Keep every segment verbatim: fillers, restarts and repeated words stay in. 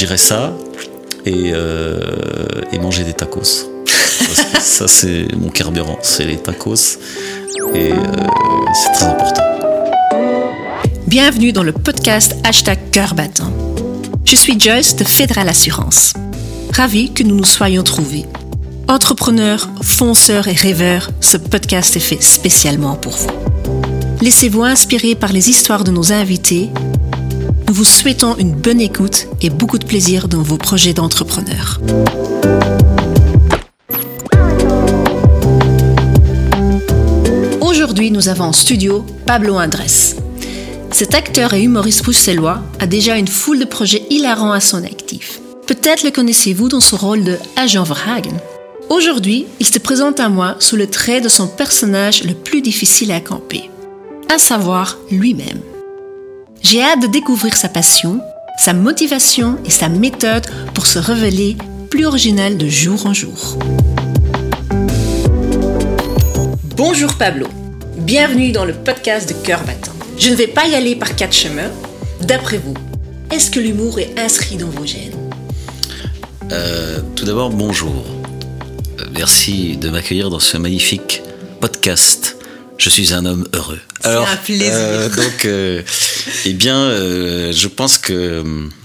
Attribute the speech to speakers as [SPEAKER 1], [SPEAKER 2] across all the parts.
[SPEAKER 1] dirais ça et, euh, et manger des tacos. Parce que ça, c'est mon carburant, c'est les tacos et euh, c'est très important.
[SPEAKER 2] Bienvenue dans le podcast Hashtag Cœur Battant. Je suis Joyce de Fédéral Assurance. Ravie que nous nous soyons trouvés. Entrepreneurs, fonceurs et rêveurs, ce podcast est fait spécialement pour vous. Laissez-vous inspirer par les histoires de nos invités. Nous vous souhaitons une bonne écoute et beaucoup de plaisir dans vos projets d'entrepreneurs. Aujourd'hui, nous avons en studio Pablo Andrés. Cet acteur et humoriste bruxellois a déjà une foule de projets hilarants à son actif. Peut-être le connaissez-vous dans son rôle de Agent Verhagen. Aujourd'hui, il se présente à moi sous le trait de son personnage le plus difficile à camper, à savoir lui-même. J'ai hâte de découvrir sa passion, sa motivation et sa méthode pour se révéler plus original de jour en jour. Bonjour Pablo, bienvenue dans le podcast de Cœur Battant. Je ne vais pas y aller par quatre chemins. D'après vous, est-ce que l'humour est inscrit dans vos gènes ?
[SPEAKER 1] euh, Tout d'abord, bonjour. Merci de m'accueillir dans ce magnifique podcast. Je suis un homme heureux.
[SPEAKER 2] C'est Alors, un plaisir.
[SPEAKER 1] Euh, donc, euh, eh bien, euh, je pense que,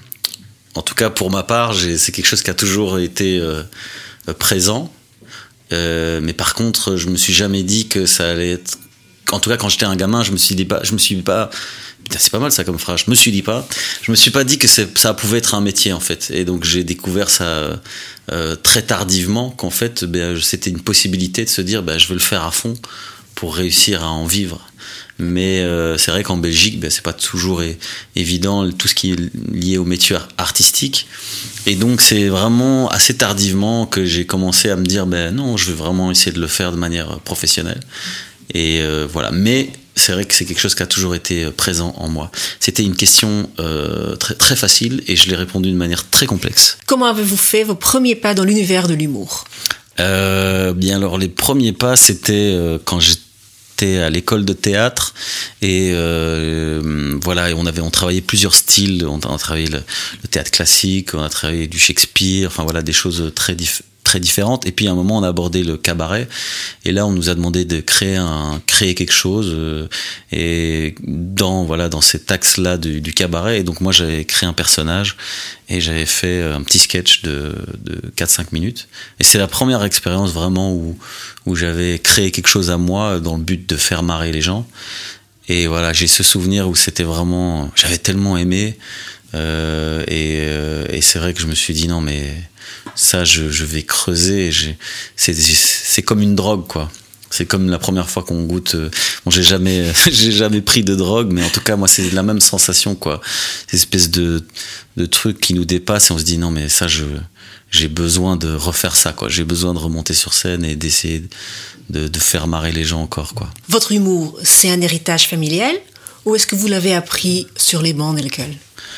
[SPEAKER 1] en tout cas pour ma part, j'ai, c'est quelque chose qui a toujours été euh, présent. Euh, mais par contre, je me suis jamais dit que ça allait être. En tout cas, quand j'étais un gamin, je me suis dit pas, je me suis pas. Putain, c'est pas mal ça comme phrase. Je me suis dit pas. Je me suis pas dit que c'est, ça pouvait être un métier en fait. Et donc j'ai découvert ça euh, très tardivement qu'en fait, ben, c'était une possibilité de se dire, ben, je veux le faire à fond pour réussir à en vivre. Mais euh, c'est vrai qu'en Belgique, ben, c'est pas toujours é- évident tout ce qui est lié au métier artistique. Et donc c'est vraiment assez tardivement que j'ai commencé à me dire, ben non, je veux vraiment essayer de le faire de manière professionnelle. Et euh, voilà. Mais c'est vrai que c'est quelque chose qui a toujours été présent en moi. C'était une question euh, très, très facile et je l'ai répondu d'une manière très complexe.
[SPEAKER 2] Comment avez-vous fait vos premiers pas dans l'univers de l'humour ?
[SPEAKER 1] euh, Bien alors, les premiers pas, c'était euh, quand j'étais à l'école de théâtre et euh, voilà, et on avait on travaillait plusieurs styles. On a travaillé le, le théâtre classique, on a travaillé du Shakespeare, enfin voilà, des choses très différentes. très différentes. Et puis à un moment on a abordé le cabaret et là on nous a demandé de créer un créer quelque chose euh, et dans voilà dans cet axe là du, du cabaret. Et donc moi j'avais créé un personnage et j'avais fait un petit sketch de de quatre cinq minutes et c'est la première expérience vraiment où où j'avais créé quelque chose à moi dans le but de faire marrer les gens. Et voilà, j'ai ce souvenir où c'était vraiment, j'avais tellement aimé euh, et euh, et c'est vrai que je me suis dit non mais ça je, je vais creuser. J'ai, c'est, c'est comme une drogue quoi. C'est comme la première fois qu'on goûte. Bon, j'ai jamais, j'ai jamais pris de drogue, mais en tout cas moi c'est la même sensation quoi. Cette espèce de de truc qui nous dépasse et on se dit non mais ça je j'ai besoin de refaire ça quoi. J'ai besoin de remonter sur scène et d'essayer de, de faire marrer les gens encore quoi.
[SPEAKER 2] Votre humour, c'est un héritage familial ou est-ce que vous l'avez appris sur les bancs de l'école ?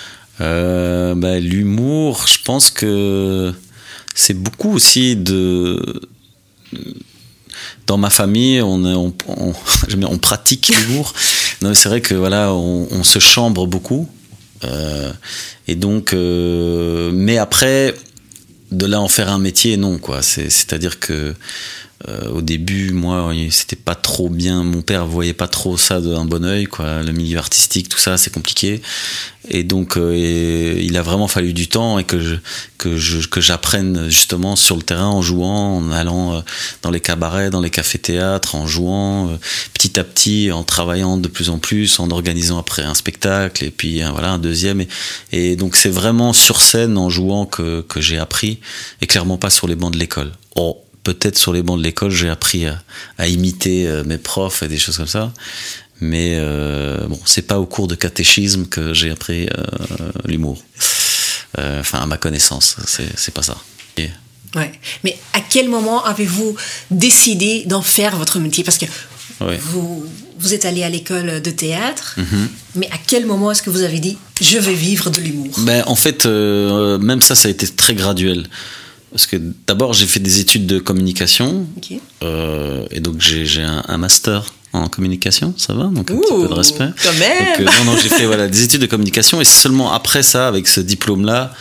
[SPEAKER 1] Euh, bah, l'humour, je pense que c'est beaucoup aussi de. Dans ma famille, on, on, on, on pratique l'humour. Non, c'est vrai que voilà, on, on se chambre beaucoup, euh, et donc, euh, mais après, de là en faire un métier, non quoi. C'est, c'est-à-dire que euh, au début, moi, c'était pas trop bien. Mon père voyait pas trop ça d'un bon œil, quoi. Le milieu artistique, tout ça, c'est compliqué. Et donc, euh, et il a vraiment fallu du temps et que je, que je, que j'apprenne justement sur le terrain en jouant, en allant euh, dans les cabarets, dans les cafés-théâtres, en jouant euh, petit à petit, en travaillant de plus en plus, en organisant après un spectacle et puis euh, voilà un deuxième. Et, et donc, c'est vraiment sur scène, en jouant, que, que j'ai appris et clairement pas sur les bancs de l'école. Oh. Peut-être sur les bancs de l'école, j'ai appris à, à imiter euh, mes profs et des choses comme ça. Mais euh, bon, c'est pas au cours de catéchisme que j'ai appris euh, l'humour. Euh, enfin, à ma connaissance, c'est, c'est pas ça. Et...
[SPEAKER 2] Ouais. Mais à quel moment avez-vous décidé d'en faire votre métier ? Parce que ouais. vous, vous êtes allé à l'école de théâtre, mm-hmm. mais à quel moment est-ce que vous avez dit « je vais vivre de l'humour » ?
[SPEAKER 1] Ben, en fait, euh, même ça, ça a été très graduel. Parce que d'abord, j'ai fait des études de communication. Okay. Euh, et donc, j'ai, j'ai un, un master en communication, ça va ? Donc, un Ouh, petit peu de respect.
[SPEAKER 2] Quand même.
[SPEAKER 1] Donc, euh, non, non, j'ai fait voilà, des études de communication. Et c'est seulement après ça, avec ce diplôme-là,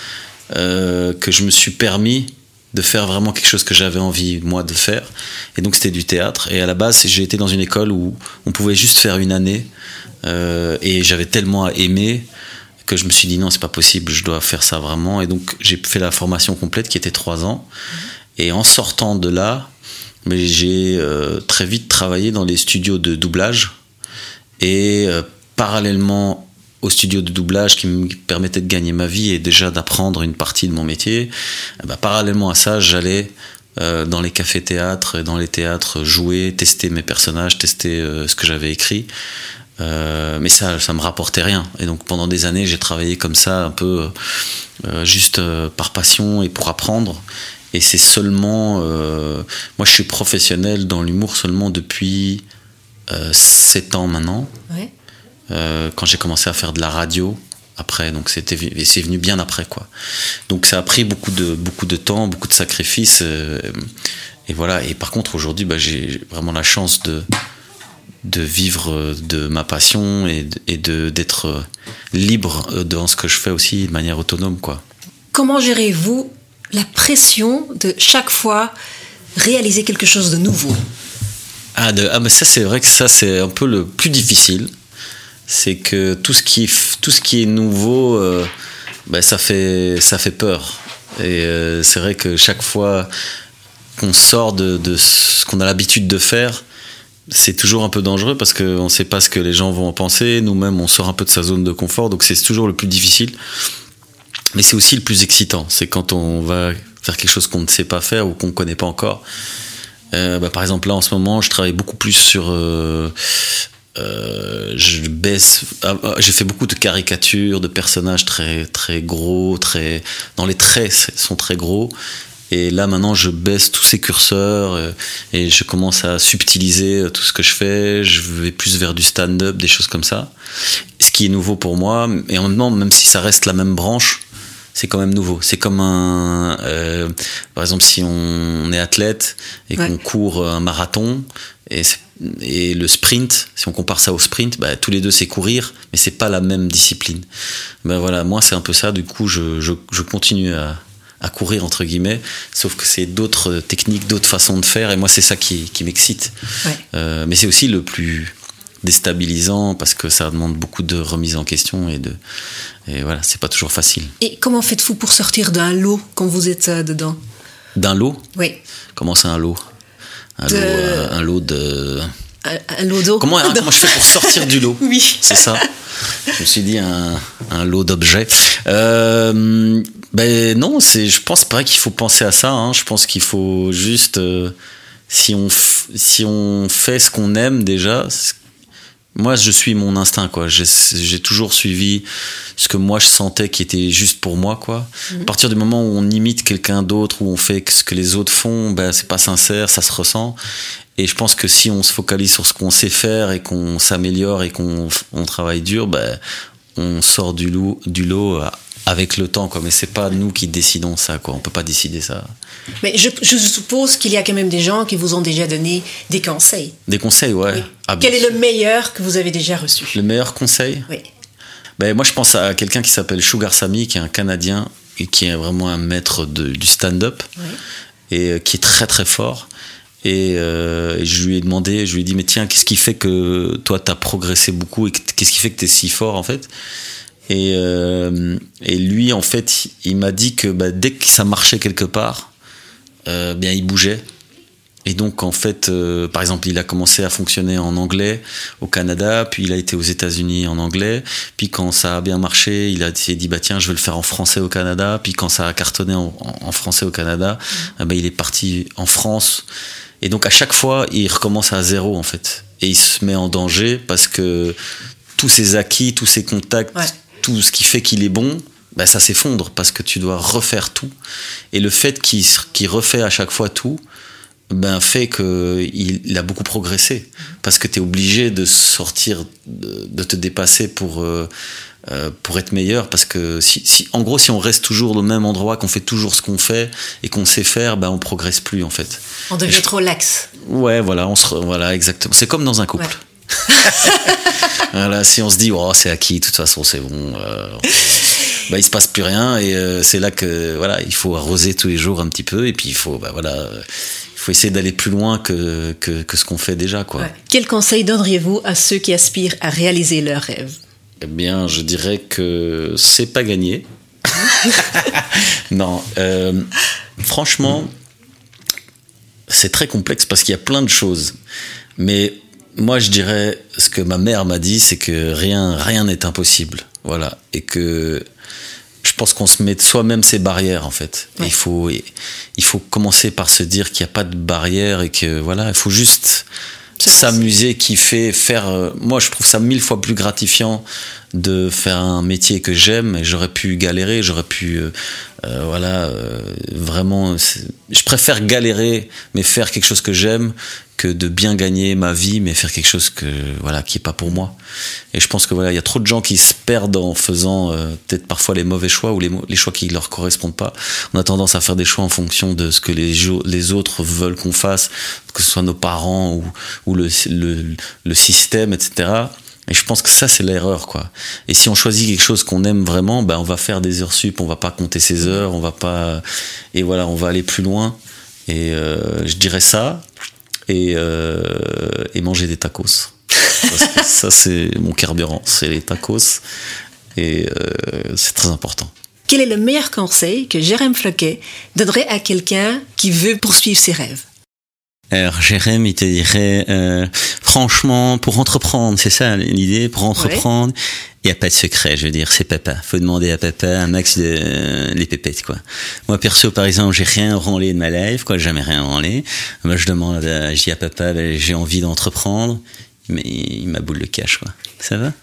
[SPEAKER 1] euh, que je me suis permis de faire vraiment quelque chose que j'avais envie, moi, de faire. Et donc, c'était du théâtre. Et à la base, j'ai été dans une école où on pouvait juste faire une année. Euh, et j'avais tellement aimé que je me suis dit, non, c'est pas possible, je dois faire ça vraiment. Et donc, j'ai fait la formation complète qui était trois ans. Et en sortant de là, mais j'ai euh, très vite travaillé dans les studios de doublage. Et euh, parallèlement au studio de doublage qui me permettait de gagner ma vie et déjà d'apprendre une partie de mon métier, eh ben, parallèlement à ça, j'allais euh, dans les cafés-théâtres, dans les théâtres, jouer, tester mes personnages, tester euh, ce que j'avais écrit. Euh, mais ça, ça me rapportait rien. Et donc pendant des années, j'ai travaillé comme ça, un peu euh, juste euh, par passion et pour apprendre. Et c'est seulement... Euh, moi, je suis professionnel dans l'humour seulement depuis euh, sept ans maintenant.
[SPEAKER 2] Ouais.
[SPEAKER 1] Euh, quand j'ai commencé à faire de la radio après, donc c'était, et c'est venu bien après, quoi. Donc ça a pris beaucoup de, beaucoup de temps, beaucoup de sacrifices, euh, et voilà. Et par contre aujourd'hui, bah, j'ai vraiment la chance de, de vivre de ma passion et, de, et de, d'être libre dans ce que je fais aussi de manière autonome, quoi.
[SPEAKER 2] Comment gérez-vous la pression de chaque fois réaliser quelque chose de nouveau?
[SPEAKER 1] Ah, de, ah mais ça c'est vrai que ça c'est un peu le plus difficile. C'est que tout ce qui, tout ce qui est nouveau, euh, ben ça fait, ça fait peur. Et euh, c'est vrai que chaque fois qu'on sort de, de ce qu'on a l'habitude de faire, c'est toujours un peu dangereux parce qu'on ne sait pas ce que les gens vont en penser. Nous-mêmes, on sort un peu de sa zone de confort, donc c'est toujours le plus difficile. Mais c'est aussi le plus excitant. C'est quand on va faire quelque chose qu'on ne sait pas faire ou qu'on ne connaît pas encore. Euh, ben par exemple, là, en ce moment, je travaille beaucoup plus sur... Euh, Euh, je baisse. J'ai fait beaucoup de caricatures de personnages très très gros, très dans les traits sont très gros. Et là maintenant, je baisse tous ces curseurs et je commence à subtiliser tout ce que je fais. Je vais plus vers du stand-up, des choses comme ça. Ce qui est nouveau pour moi. Et en même temps, même si ça reste la même branche, c'est quand même nouveau. C'est comme un, euh, par exemple, si on est athlète et qu'on ouais. court un marathon et c'est Et le sprint, si on compare ça au sprint, bah, tous les deux c'est courir, mais c'est pas la même discipline. Ben voilà, moi c'est un peu ça. Du coup, je, je, je continue à, à courir entre guillemets, sauf que c'est d'autres techniques, d'autres façons de faire, et moi c'est ça qui, qui m'excite. Ouais. Euh, mais c'est aussi le plus déstabilisant parce que ça demande beaucoup de remise en question et de, et voilà, c'est pas toujours facile.
[SPEAKER 2] Et comment faites-vous pour sortir d'un lot quand vous êtes dedans?
[SPEAKER 1] D'un lot?
[SPEAKER 2] Oui.
[SPEAKER 1] Comment c'est un lot? Un, de... lot, euh, un lot de...
[SPEAKER 2] Un, un lot d'eau.
[SPEAKER 1] Comment, hein, comment je fais pour sortir du lot?
[SPEAKER 2] Oui.
[SPEAKER 1] C'est ça. Je me suis dit un, un lot d'objets. Euh, ben non, c'est, je pense pas qu'il faut penser à ça. Hein. Je pense qu'il faut juste... Euh, si, on f- si on fait ce qu'on aime déjà... Moi, je suis mon instinct, quoi. J'ai, j'ai toujours suivi ce que moi je sentais qui était juste pour moi, quoi. Mmh. À partir du moment où on imite quelqu'un d'autre, où on fait ce que les autres font, ben c'est pas sincère, ça se ressent. Et je pense que si on se focalise sur ce qu'on sait faire et qu'on s'améliore et qu'on on travaille dur, ben on sort du lot, du lot avec le temps, quoi. Mais c'est pas nous qui décidons ça, quoi. On peut pas décider ça.
[SPEAKER 2] Mais je, je suppose qu'il y a quand même des gens qui vous ont déjà donné des conseils.
[SPEAKER 1] Des conseils, ouais.
[SPEAKER 2] Oui.
[SPEAKER 1] Ah,
[SPEAKER 2] Quel est le meilleur que vous avez déjà reçu?
[SPEAKER 1] Le meilleur conseil?
[SPEAKER 2] Oui.
[SPEAKER 1] Ben, moi, je pense à quelqu'un qui s'appelle Sugar Sammy, qui est un Canadien et qui est vraiment un maître de, du stand-up, oui. et qui est très très fort. Et, euh, et je lui ai demandé, je lui ai dit, mais tiens, qu'est-ce qui fait que toi, t'as progressé beaucoup et qu'est-ce qui fait que t'es si fort, en fait? Et, euh, et lui, en fait, il m'a dit que bah, dès que ça marchait quelque part, Euh, bien il bougeait. Et donc en fait euh, par exemple il a commencé à fonctionner en anglais au Canada, puis il a été aux États-Unis en anglais, puis quand ça a bien marché il, a, il s'est dit bah tiens je vais le faire en français au Canada, puis quand ça a cartonné en, en français au Canada, mmh. bah, il est parti en France, et donc à chaque fois il recommence à zéro en fait, et il se met en danger parce que tous ses acquis, tous ses contacts, ouais. tout ce qui fait qu'il est bon, ben ça s'effondre parce que tu dois refaire tout. Et le fait qu'il, qu'il refait à chaque fois tout, ben fait qu'il il a beaucoup progressé. Parce que tu es obligé de sortir, de, de te dépasser pour, euh, pour être meilleur. Parce que, si, si, en gros, si on reste toujours au même endroit, qu'on fait toujours ce qu'on fait et qu'on sait faire, ben on progresse plus en fait.
[SPEAKER 2] On devient je... trop lax.
[SPEAKER 1] Ouais, voilà, on se, voilà, exactement. C'est comme dans un couple. Ouais. Voilà, si on se dit, oh, c'est acquis, de toute façon, c'est bon. Euh... bah, il se passe plus rien et euh, c'est là que voilà, il faut arroser tous les jours un petit peu et puis il faut bah, voilà, euh, il faut essayer d'aller plus loin que, que, que ce qu'on fait déjà, quoi.
[SPEAKER 2] Ouais. Quel conseil donneriez-vous à ceux qui aspirent à réaliser leurs rêves?
[SPEAKER 1] Eh bien, je dirais que c'est pas gagné. Non, euh, franchement, c'est très complexe parce qu'il y a plein de choses. Mais moi, je dirais, ce que ma mère m'a dit, c'est que rien, rien n'est impossible. Voilà. Et que je pense qu'on se met soi-même ses barrières, en fait. Ouais. Il faut, il faut commencer par se dire qu'il n'y a pas de barrière et que, voilà, il faut juste s'amuser, kiffer, faire. Euh, moi, je trouve ça mille fois plus gratifiant de faire un métier que j'aime. Et j'aurais pu galérer, j'aurais pu, euh, euh, voilà, euh, vraiment. Je préfère galérer, mais faire quelque chose que j'aime, que de bien gagner ma vie, mais faire quelque chose que, voilà, qui est pas pour moi. Et je pense que voilà, il y a trop de gens qui se perdent en faisant euh, peut-être parfois les mauvais choix ou les, les choix qui leur correspondent pas. On a tendance à faire des choix en fonction de ce que les, les autres veulent qu'on fasse, que ce soit nos parents ou, ou le, le, le système, et cetera. Et je pense que ça, c'est l'erreur, quoi. Et si on choisit quelque chose qu'on aime vraiment, ben, on va faire des heures sup, on va pas compter ses heures, on va pas, et voilà, on va aller plus loin. Et euh, je dirais ça. Et, euh, et manger des tacos. Ça, ça, c'est mon carburant, c'est les tacos. Et euh, c'est très important.
[SPEAKER 2] Quel est le meilleur conseil que Jérém Floquet donnerait à quelqu'un qui veut poursuivre ses rêves?
[SPEAKER 3] Alors, Jérém, il te dirait, euh, franchement, pour entreprendre, c'est ça l'idée, pour entreprendre, il n'y a pas de secret, je veux dire, c'est papa. Faut demander à papa un max de euh, les pépettes, quoi. Moi, perso, par exemple, j'ai rien branlé de ma life, quoi, jamais rien branlé. Moi, je demande, à, je dis à papa, ben, j'ai envie d'entreprendre, mais il m'a boule le cash, quoi. Ça va?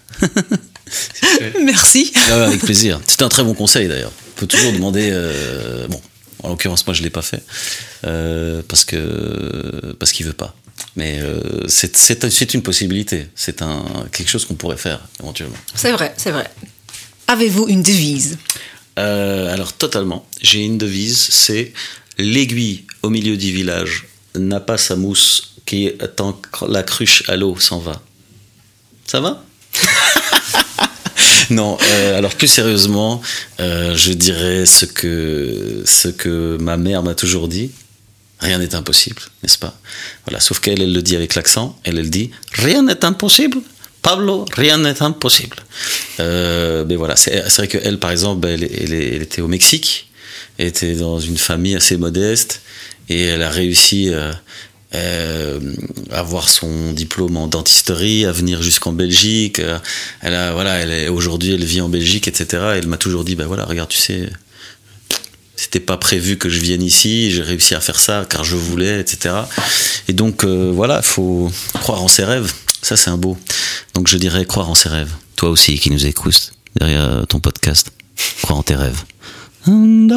[SPEAKER 2] Merci.
[SPEAKER 1] Ah, avec plaisir. C'est un très bon conseil, d'ailleurs. On peut toujours demander, euh, bon. En l'occurrence, moi, je l'ai pas fait euh, parce que parce qu'il veut pas. Mais euh, c'est c'est c'est une possibilité. C'est un quelque chose qu'on pourrait faire éventuellement.
[SPEAKER 2] C'est vrai, c'est vrai. Avez-vous une devise?
[SPEAKER 1] euh, Alors totalement. J'ai une devise. C'est l'aiguille au milieu du village n'a pas sa mousse qui tant que la cruche à l'eau s'en va. Ça va? Non, euh, alors plus sérieusement, euh, je dirais ce que, ce que ma mère m'a toujours dit. Rien n'est impossible, n'est-ce pas? Voilà, sauf qu'elle, elle le dit avec l'accent. Elle, elle dit « Rien n'est impossible, Pablo, rien n'est impossible. Euh, » Mais voilà, c'est, c'est vrai qu'elle, par exemple, elle, elle, elle était au Mexique. Elle était dans une famille assez modeste. Et elle a réussi... Euh, Euh, avoir son diplôme en dentisterie, à venir jusqu'en Belgique. Euh, elle a, voilà, elle est, aujourd'hui, elle vit en Belgique, et cetera. Elle m'a toujours dit, bah voilà, regarde, tu sais, c'était pas prévu que je vienne ici, j'ai réussi à faire ça car je voulais, et cetera. Et donc, euh, voilà, faut croire en ses rêves. Ça, c'est un beau. Donc, je dirais croire en ses rêves. Toi aussi, qui nous écoutes derrière ton podcast, crois en tes rêves. And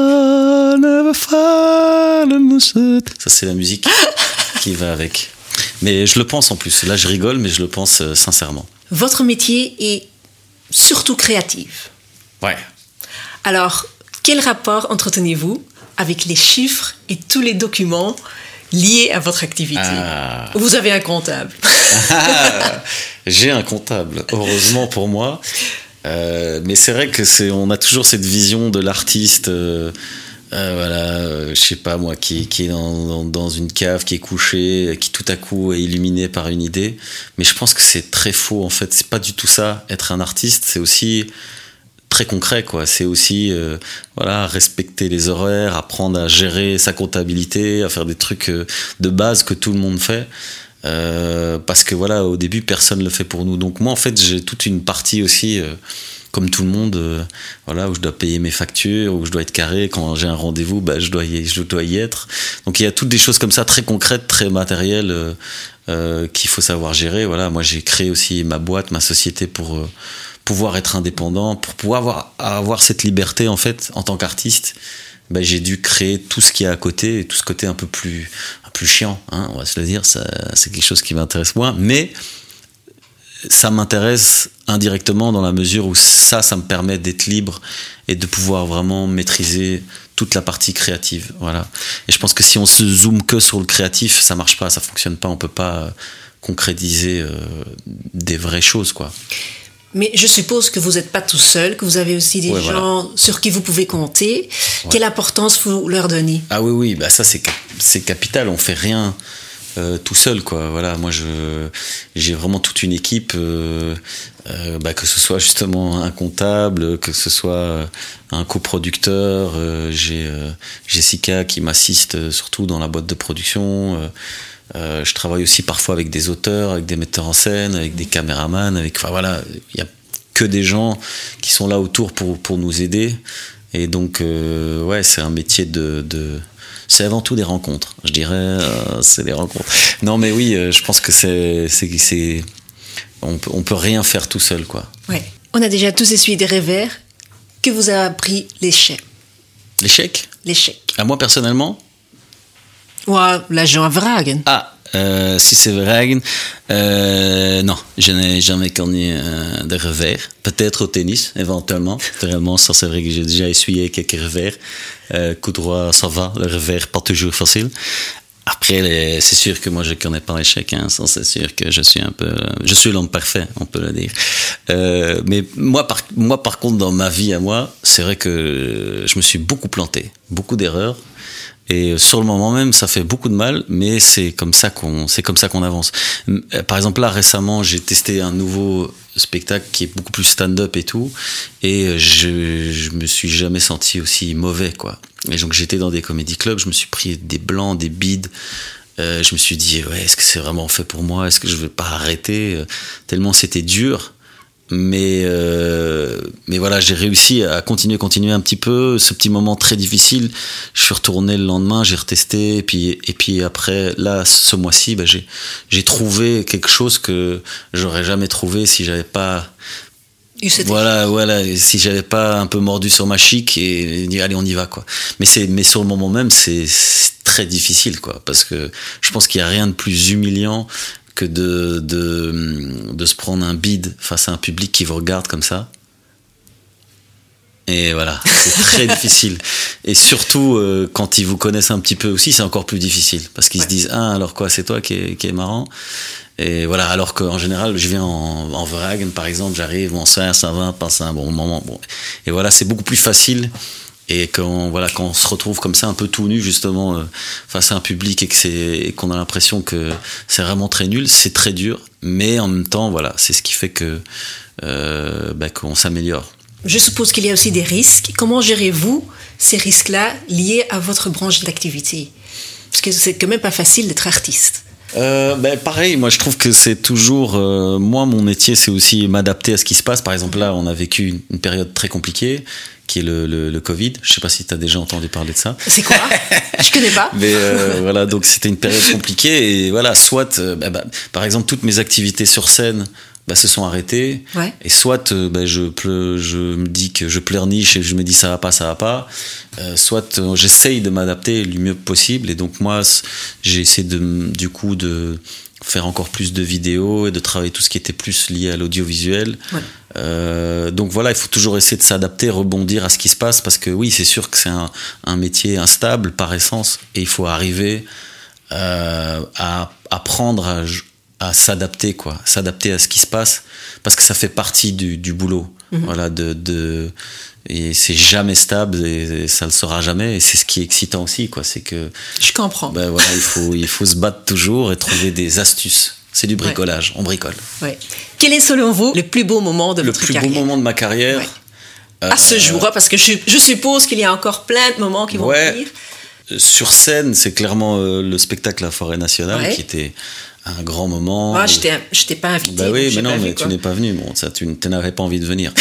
[SPEAKER 1] I never fallen. Ça, c'est la musique qui va avec. Mais je le pense en plus. Là, je rigole, mais je le pense euh, sincèrement.
[SPEAKER 2] Votre métier est surtout créatif.
[SPEAKER 1] Ouais.
[SPEAKER 2] Alors, quel rapport entretenez-vous avec les chiffres et tous les documents liés à votre activité? Ah. Vous avez un comptable.
[SPEAKER 1] Ah, j'ai un comptable, heureusement pour moi. Euh, mais c'est vrai que c'est, on a toujours cette vision de l'artiste, euh, euh, voilà, euh, je sais pas moi, qui, qui est dans, dans, dans une cave, qui est couché, qui tout à coup est illuminé par une idée. Mais je pense que c'est très faux en fait. C'est pas du tout ça. Être un artiste, c'est aussi très concret, quoi. C'est aussi, euh, voilà, respecter les horaires, apprendre à gérer sa comptabilité, à faire des trucs euh, de base que tout le monde fait. Euh, parce que voilà, au début personne le fait pour nous. Donc moi en fait j'ai toute une partie aussi euh, comme tout le monde, euh, voilà, où je dois payer mes factures, où je dois être carré quand j'ai un rendez-vous, bah, je dois y, je dois y être. Donc il y a toutes des choses comme ça très concrètes, très matérielles euh, euh, qu'il faut savoir gérer. Voilà, moi j'ai créé aussi ma boîte, ma société pour euh, pouvoir être indépendant, pour pouvoir avoir, avoir cette liberté en fait en tant qu'artiste. Ben, j'ai dû créer tout ce qu'il y a à côté, et tout ce côté un peu plus, un plus chiant, hein, on va se le dire, ça, c'est quelque chose qui m'intéresse moins, mais ça m'intéresse indirectement dans la mesure où ça, ça me permet d'être libre et de pouvoir vraiment maîtriser toute la partie créative, voilà. Et je pense que si on se zoome que sur le créatif, ça marche pas, ça fonctionne pas, on peut pas concrétiser euh, des vraies choses, quoi.
[SPEAKER 2] Mais je suppose que vous n'êtes pas tout seul, que vous avez aussi des
[SPEAKER 1] ouais,
[SPEAKER 2] gens voilà. sur qui vous pouvez compter. Ouais. Quelle importance vous leur donnez?
[SPEAKER 1] Ah oui, oui, bah ça c'est, c'est capital. On fait rien euh, tout seul, quoi. Voilà, moi je, j'ai vraiment toute une équipe, euh, euh, bah, que ce soit justement un comptable, que ce soit un coproducteur. Euh, j'ai euh, Jessica qui m'assiste surtout dans la boîte de production. Euh, Euh, je travaille aussi parfois avec des auteurs, avec des metteurs en scène, avec des caméramans, avec, enfin voilà, il y a que des gens qui sont là autour pour pour nous aider. Et donc, euh, ouais, c'est un métier de, de, c'est avant tout des rencontres. Je dirais, euh, c'est des rencontres. Non, mais oui, euh, je pense que c'est, c'est, c'est, on peut, on peut rien faire tout seul, quoi.
[SPEAKER 2] Ouais. On a déjà tous essuyé des revers. Que vous a appris l'échec?
[SPEAKER 1] L'échec?
[SPEAKER 2] L'échec.
[SPEAKER 1] À moi personnellement?
[SPEAKER 2] Ouais, l'agent Vragen.
[SPEAKER 1] Ah, euh, si c'est Vragen, euh, non, je n'ai jamais connu euh, de revers. Peut-être au tennis, éventuellement. Réellement, ça c'est vrai que j'ai déjà essuyé quelques revers. Euh, coup droit, ça va. Le revers, pas toujours facile. Après, les, c'est sûr que moi je connais pas l'échec. Hein, ça, c'est sûr que je suis un peu, je suis l'homme parfait, on peut le dire. Euh, mais moi, par, moi, par contre, dans ma vie à moi, c'est vrai que je me suis beaucoup planté, beaucoup d'erreurs. Et sur le moment même, ça fait beaucoup de mal, mais c'est comme ça qu'on, c'est comme ça qu'on avance. Par exemple, là, récemment, j'ai testé un nouveau spectacle qui est beaucoup plus stand-up et tout, et je, je me suis jamais senti aussi mauvais, quoi. Et donc, j'étais dans des comédie clubs, je me suis pris des blancs, des bides. Euh, je me suis dit, ouais, est-ce que c'est vraiment fait pour moi? Est-ce que je vais pas arrêter? Tellement c'était dur. Mais euh, mais voilà, j'ai réussi à continuer, continuer un petit peu. Ce petit moment très difficile, je suis retourné le lendemain, j'ai retesté, et puis et puis après, là, ce mois-ci, bah, j'ai j'ai trouvé quelque chose que j'aurais jamais trouvé si j'avais pas. Voilà, voilà, si j'avais pas un peu mordu sur ma chic et dit allez on y va, quoi. Mais c'est mais sur le moment même, c'est, c'est très difficile, quoi, parce que je pense qu'il y a rien de plus humiliant que de, de, de se prendre un bide face à un public qui vous regarde comme ça. Et voilà, c'est très difficile. Et surtout, euh, quand ils vous connaissent un petit peu aussi, c'est encore plus difficile. Parce qu'ils ouais. se disent, ah, alors quoi, c'est toi qui est, qui est marrant. Et voilà, alors qu'en général, je viens en, en Vragen, par exemple, j'arrive, bonsoir, ça va, passe un bon moment. Bon. Et voilà, c'est beaucoup plus facile. Et quand, voilà, quand on se retrouve comme ça, un peu tout nu, justement, euh, face à un public et, que c'est, et qu'on a l'impression que c'est vraiment très nul, c'est très dur. Mais en même temps, voilà, c'est ce qui fait que, euh, bah, qu'on s'améliore.
[SPEAKER 2] Je suppose qu'il y a aussi des risques. Comment gérez-vous ces risques-là liés à votre branche d'activité? Parce que c'est quand même pas facile d'être artiste.
[SPEAKER 1] Euh, ben pareil, moi je trouve que c'est toujours euh, moi mon métier, c'est aussi m'adapter à ce qui se passe. Par exemple, là on a vécu une, une période très compliquée qui est le, le, le Covid. Je sais pas si tu as déjà entendu parler de ça.
[SPEAKER 2] C'est quoi? Je connais pas.
[SPEAKER 1] Mais euh, voilà, donc c'était une période compliquée et voilà, soit euh, bah, bah, par exemple toutes mes activités sur scène bah, se sont arrêtées, ouais. Et soit euh, bah, je, ple, je me dis que je pleurniche et je me dis ça va pas, ça va pas, euh, soit euh, j'essaye de m'adapter le mieux possible. Et donc moi j'ai essayé de, du coup de faire encore plus de vidéos et de travailler tout ce qui était plus lié à l'audiovisuel. Ouais. Euh, donc voilà, il faut toujours essayer de s'adapter, rebondir à ce qui se passe, parce que oui, c'est sûr que c'est un, un métier instable par essence, et il faut arriver euh, à apprendre à, à s'adapter, quoi, s'adapter à ce qui se passe, parce que ça fait partie du, du boulot. Mmh. Voilà, de, de, et c'est jamais stable et ça le sera jamais, et c'est ce qui est excitant aussi, quoi. C'est que
[SPEAKER 2] je comprends.
[SPEAKER 1] Ben voilà, il faut il faut se battre toujours et trouver des astuces. C'est du bricolage, ouais. On bricole.
[SPEAKER 2] Ouais. Quel est selon vous le plus beau moment de votre carrière?
[SPEAKER 1] Le plus beau moment de ma carrière,
[SPEAKER 2] ouais. euh, à ce jour, euh, parce que je, je suppose qu'il y a encore plein de moments qui vont
[SPEAKER 1] ouais,
[SPEAKER 2] venir.
[SPEAKER 1] Sur scène, c'est clairement euh, le spectacle La Forêt Nationale, ouais. Qui était un grand moment.
[SPEAKER 2] Moi, je t'ai, je t'ai pas invité.
[SPEAKER 1] Bah oui, mais non, mais
[SPEAKER 2] vu,
[SPEAKER 1] tu n'es pas venu. Bon, ça, tu n'avais pas envie de venir.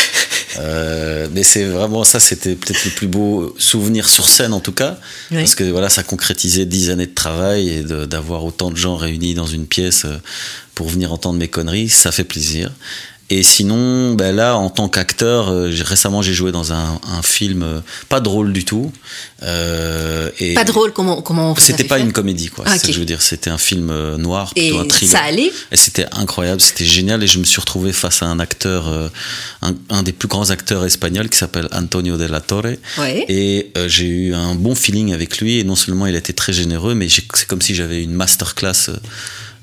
[SPEAKER 1] euh, mais c'est vraiment ça, c'était peut-être le plus beau souvenir sur scène, en tout cas, oui. Parce que voilà, ça concrétisait dix années de travail et de, d'avoir autant de gens réunis dans une pièce pour venir entendre mes conneries, ça fait plaisir. Et sinon, ben là, en tant qu'acteur, euh, j'ai, récemment, j'ai joué dans un, un film euh, pas drôle du tout. Euh, et
[SPEAKER 2] pas drôle, comment comment vous
[SPEAKER 1] C'était pas
[SPEAKER 2] fait
[SPEAKER 1] une comédie, quoi.
[SPEAKER 2] Ah,
[SPEAKER 1] c'est
[SPEAKER 2] okay.
[SPEAKER 1] ce que je veux dire. C'était un film euh, noir, plutôt
[SPEAKER 2] et
[SPEAKER 1] un thriller.
[SPEAKER 2] Ça allait.
[SPEAKER 1] Et c'était incroyable, c'était génial. Et je me suis retrouvé face à un acteur, euh, un, un des plus grands acteurs espagnols qui s'appelle Antonio de la Torre.
[SPEAKER 2] Ouais.
[SPEAKER 1] Et euh, j'ai eu un bon feeling avec lui. Et non seulement il a été très généreux, mais j'ai, c'est comme si j'avais une masterclass. Euh,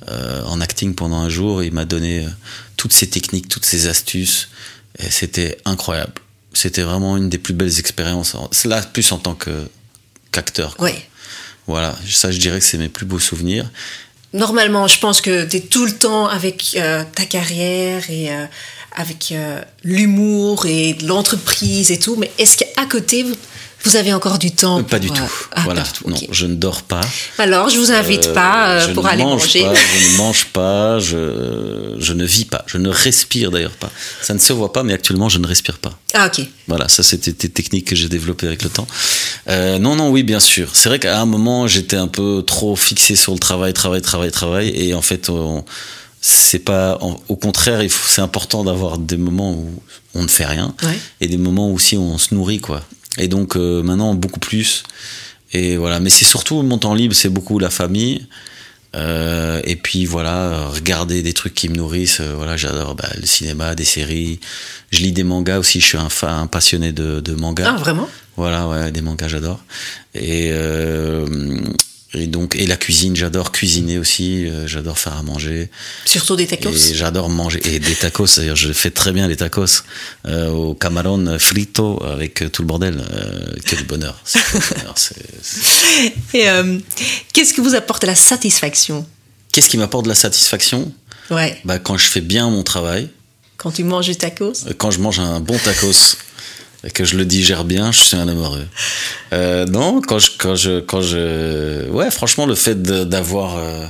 [SPEAKER 1] euh, en acting pendant un jour. Il m'a donné euh, toutes ces techniques, toutes ces astuces. Et c'était incroyable. C'était vraiment une des plus belles expériences. C'est là plus en tant que, qu'acteur. Quoi.
[SPEAKER 2] Oui.
[SPEAKER 1] Voilà, ça je dirais que c'est mes plus beaux souvenirs.
[SPEAKER 2] Normalement, je pense que tu es tout le temps avec euh, ta carrière et euh, avec euh, l'humour et l'entreprise et tout. Mais est-ce qu'à côté, vous, vous avez encore du temps
[SPEAKER 1] Pas
[SPEAKER 2] pour,
[SPEAKER 1] du tout.
[SPEAKER 2] Euh, ah,
[SPEAKER 1] voilà.
[SPEAKER 2] pas du tout.
[SPEAKER 1] Non,
[SPEAKER 2] Okay.
[SPEAKER 1] je ne dors pas.
[SPEAKER 2] Alors, je vous invite euh, pas euh, pour aller manger.
[SPEAKER 1] Pas, je ne mange pas, je, je ne vis pas, je ne respire d'ailleurs pas. Ça ne se voit pas, mais actuellement, je ne respire pas.
[SPEAKER 2] Ah, ok.
[SPEAKER 1] Voilà, ça c'était des techniques que j'ai développées avec le temps. Euh, non, non, oui, bien sûr. C'est vrai qu'à un moment, j'étais un peu trop fixé sur le travail, travail, travail, travail. Et en fait, on, c'est pas, en, au contraire, il faut, c'est important d'avoir des moments où on ne fait rien.
[SPEAKER 2] Ouais.
[SPEAKER 1] Et des moments où aussi on se nourrit, quoi. Et donc, euh, maintenant, beaucoup plus. Et voilà. Mais c'est surtout mon temps libre, c'est beaucoup la famille. Euh, et puis voilà, regarder des trucs qui me nourrissent. Euh, voilà, j'adore bah, le cinéma, des séries. Je lis des mangas aussi. Je suis un, fan, un passionné de, de mangas.
[SPEAKER 2] Ah, vraiment?
[SPEAKER 1] Voilà, ouais, des mangas, j'adore. Et, euh, et donc, et la cuisine, j'adore cuisiner aussi. Euh, j'adore faire à manger.
[SPEAKER 2] Surtout des tacos.
[SPEAKER 1] Et j'adore manger. Et des tacos, d'ailleurs, je fais très bien les tacos. Euh, au camarón frito avec tout le bordel. Euh, quel bonheur. C'est quel bonheur. C'est, c'est...
[SPEAKER 2] Et euh, qu'est-ce qui vous apporte la satisfaction?
[SPEAKER 1] Qu'est-ce qui m'apporte de la satisfaction?
[SPEAKER 2] Ouais.
[SPEAKER 1] Bah, quand je fais bien mon travail.
[SPEAKER 2] Quand tu manges des tacos?
[SPEAKER 1] Quand je mange un bon tacos. Et que je le digère bien, je suis un homme heureux. Euh, non, quand je, quand je, quand je, ouais, franchement, le fait de, d'avoir, euh,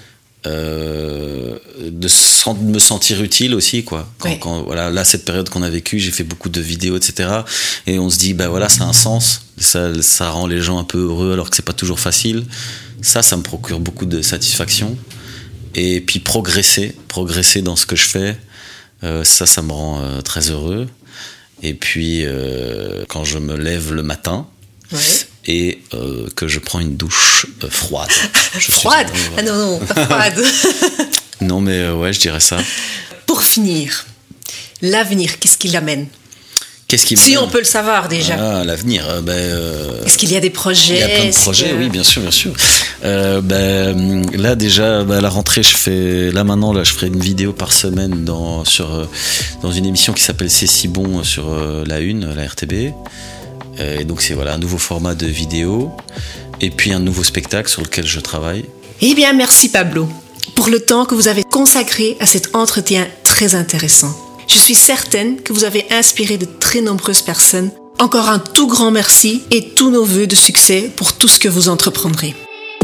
[SPEAKER 1] euh, de, de me sentir utile aussi, quoi. Quand,
[SPEAKER 2] ouais.
[SPEAKER 1] quand, voilà, là, cette période qu'on a vécue, j'ai fait beaucoup de vidéos, et cetera. Et on se dit, bah voilà, ça a un sens. Ça, ça rend les gens un peu heureux, alors que c'est pas toujours facile. Ça, ça me procure beaucoup de satisfaction. Et puis progresser, progresser dans ce que je fais, euh, ça, ça me rend euh, très heureux. Et puis, euh, quand je me lève le matin
[SPEAKER 2] ouais.
[SPEAKER 1] et euh, que je prends une douche euh, froide. Je
[SPEAKER 2] froide
[SPEAKER 1] suis...
[SPEAKER 2] Ah non, non, pas froide.
[SPEAKER 1] Non, mais euh, ouais, je dirais ça.
[SPEAKER 2] Pour finir, l'avenir, qu'est-ce qu'il amène?
[SPEAKER 1] Qu'est-ce qui
[SPEAKER 2] Si on peut le savoir déjà.
[SPEAKER 1] Ah, l'avenir. Euh, ben, euh,
[SPEAKER 2] Est-ce qu'il y a des projets?
[SPEAKER 1] Il y a plein de projets, que... oui, bien sûr, bien sûr. Euh, ben, là déjà, ben, à la rentrée, je fais, là maintenant, là, je ferai une vidéo par semaine dans sur euh, dans une émission qui s'appelle C'est si bon sur euh, la Une, la R T B. Euh, et donc c'est voilà un nouveau format de vidéo et puis un nouveau spectacle sur lequel je travaille.
[SPEAKER 2] Eh bien, merci Pablo pour le temps que vous avez consacré à cet entretien très intéressant. Je suis certaine que vous avez inspiré de très nombreuses personnes. Encore un tout grand merci et tous nos vœux de succès pour tout ce que vous entreprendrez.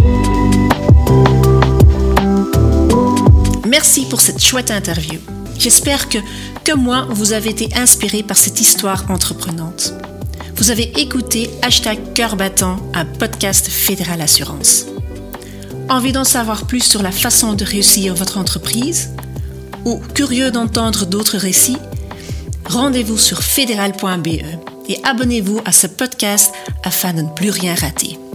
[SPEAKER 2] Merci pour cette chouette interview. J'espère que, comme moi, vous avez été inspiré par cette histoire entreprenante. Vous avez écouté Hashtag Cœur Battant, un podcast Fédéral Assurance. Envie d'en savoir plus sur la façon de réussir votre entreprise? Ou curieux d'entendre d'autres récits? Rendez-vous sur fédéral point b e et abonnez-vous à ce podcast afin de ne plus rien rater.